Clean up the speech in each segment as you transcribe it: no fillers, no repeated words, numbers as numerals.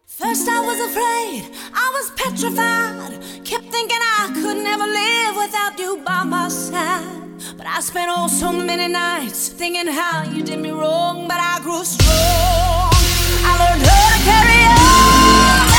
First I was afraid, I was petrified. Kept thinking I could never live without you by my side. But I spent oh so many nights thinking how you did me wrong. But I grew strong, I learned how to carry on.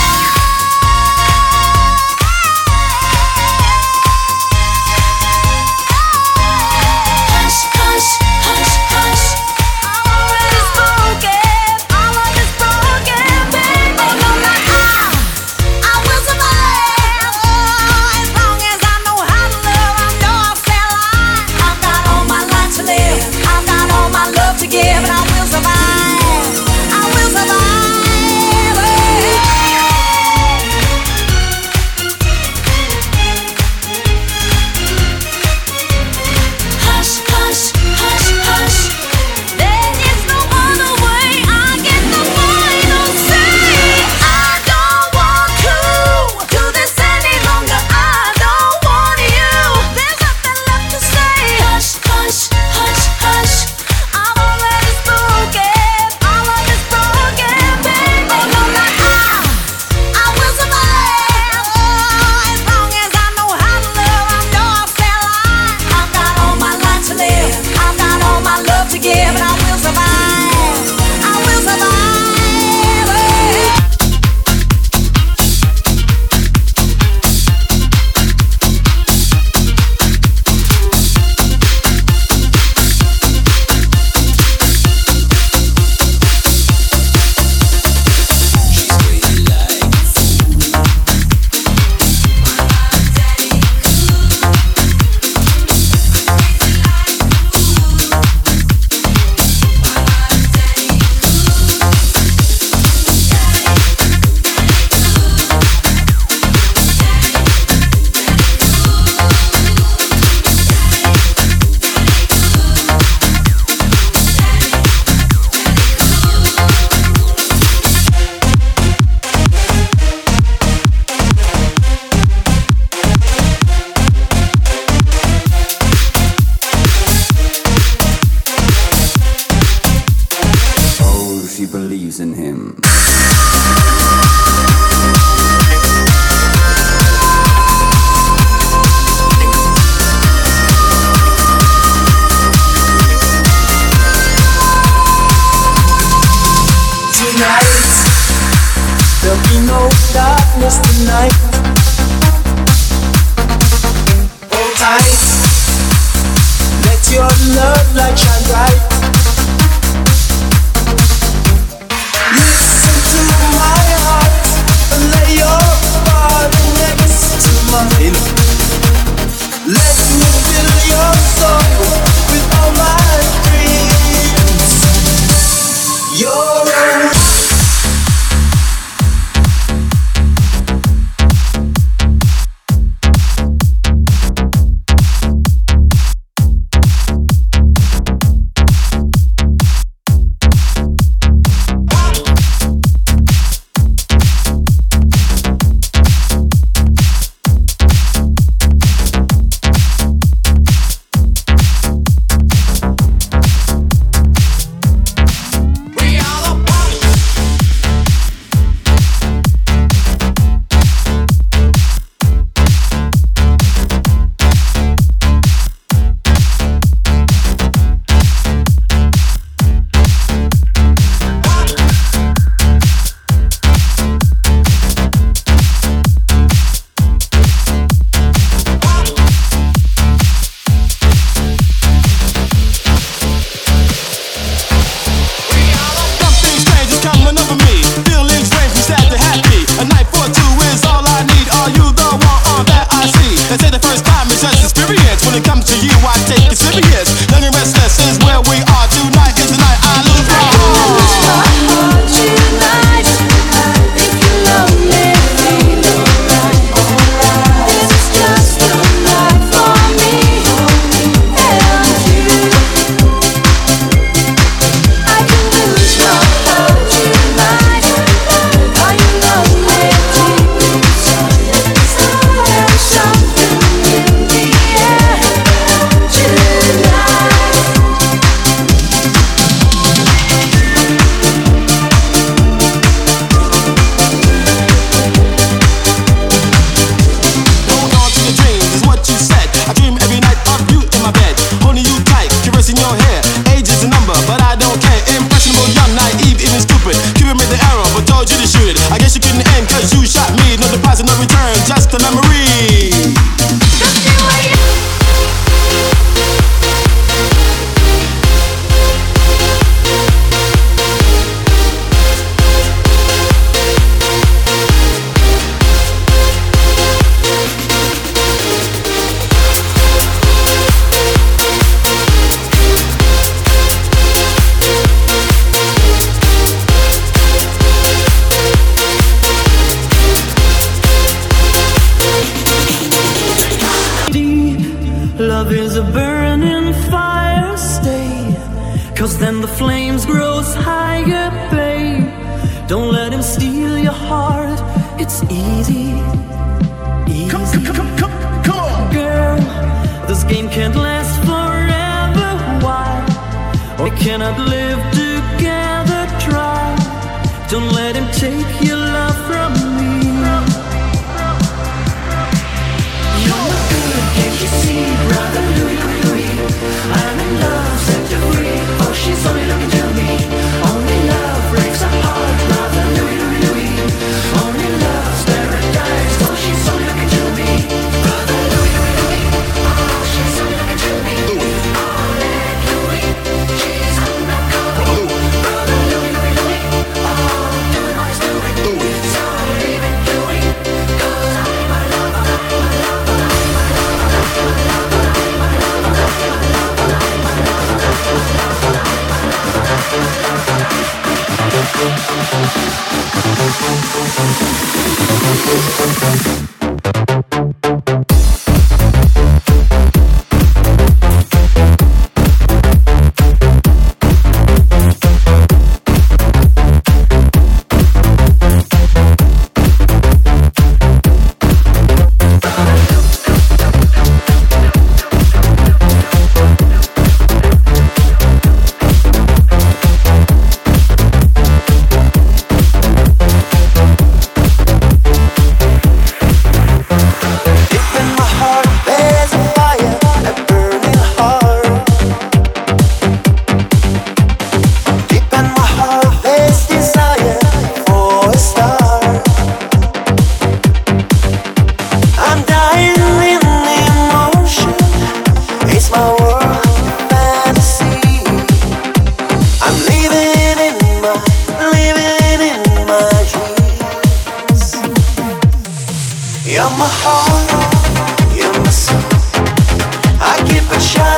Hush, hush, hush, hush. I'm already spoken, my love is broken, baby. Oh no, not I will survive. Oh, as long as I know how to love, I know I'll stay alive. I've got all my life to live, I've got all my love to give, and I will survive. I will survive. Hush, hush, hush, hush. There is no other way. I get the final say. I don't want to do this any longer. I don't want you. There's nothing left to say. Hush, hush, hush, hush. I've already spoken. My love is broken, baby. Oh no, not I will survive. Oh, as long as I know how to love, I know I'll stay alive. I've got all my life to live, I've got all my love to give, and I will survive. I will survive. Oh, she believes in him. Tonight, there'll be no darkness tonight. Hold tight, let your love light shine bright. Listen to my heart and lay your body next to mine. Let me fill your soul with all my dreams. You're told you to shoot it. I guess you couldn't end cause you shot me. No deposit, no return, just a memory. Love is a burning fire, stay, 'cause then the flames grows higher, babe. Don't let him steal your heart, it's easy, easy. Come on. Girl, this game can't last forever, why? We cannot live together, try. Don't let him take your love from me. Can't you see, brother Louis, I'm in love, set you free. Oh, she's only looking to me. Only love breaks our heart, brother Louis. Only love's paradise. Oh, she's only looking to me. Brother Louis. Oh, she's only looking to me. Only Louis, she's undercover. Brother Louis. Oh, doing what he's doing. So leave it Louis, 'cause I'm my lover. You're my heart, you're my soul. I keep a shine.